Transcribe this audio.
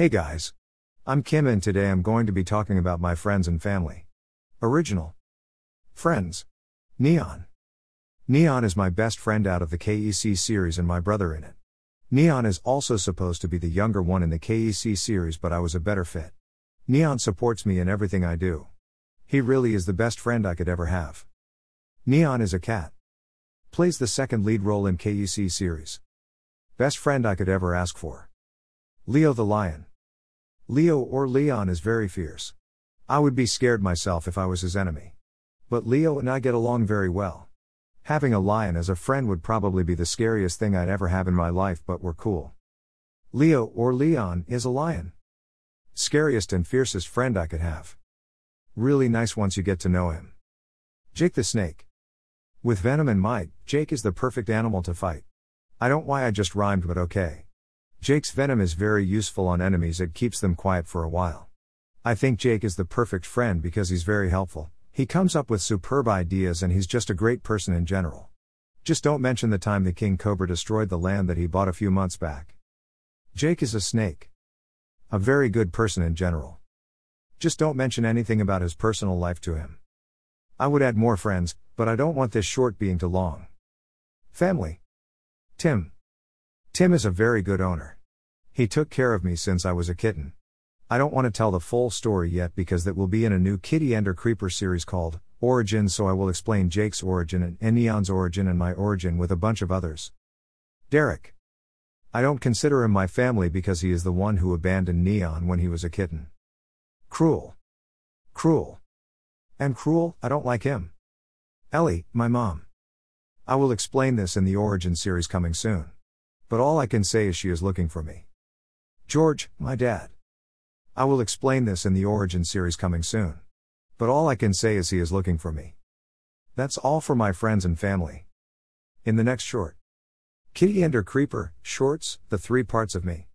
Hey guys. I'm Kim and today I'm going to be talking about my friends and family. Original. Friends. Neon. Neon is my best friend out of the KEC series and my brother in it. Neon is also supposed to be the younger one in the KEC series, but I was a better fit. Neon supports me in everything I do. He really is the best friend I could ever have. Neon is a cat. Plays the second lead role in KEC series. Best friend I could ever ask for. Leo the lion. Leo or Leon is very fierce. I would be scared myself if I was his enemy. But Leo and I get along very well. Having a lion as a friend would probably be the scariest thing I'd ever have in my life, but we're cool. Leo or Leon is a lion. Scariest and fiercest friend I could have. Really nice once you get to know him. Jake the snake. With venom and might, Jake is the perfect animal to fight. I don't know why I just rhymed, but okay. Jake's venom is very useful on enemies, it keeps them quiet for a while. I think Jake is the perfect friend because he's very helpful, he comes up with superb ideas and he's just a great person in general. Just don't mention the time the king cobra destroyed the land that he bought a few months back. Jake is a snake. A very good person in general. Just don't mention anything about his personal life to him. I would add more friends, but I don't want this short being too long. Family. Tim. Tim is a very good owner. He took care of me since I was a kitten. I don't want to tell the full story yet because that will be in a new Kitty Ender Creeper series called Origins, so I will explain Jake's origin and Neon's origin and my origin with a bunch of others. Derek. I don't consider him my family because he is the one who abandoned Neon when he was a kitten. Cruel. Cruel. And Cruel, I don't like him. Ellie, my mom. I will explain this in the Origin series coming soon. But all I can say is she is looking for me. George, my dad. I will explain this in the Origin series coming soon. But all I can say is he is looking for me. That's all for my friends and family. In the next short. Kitty Ender Creeper, Shorts, the 3 parts of me.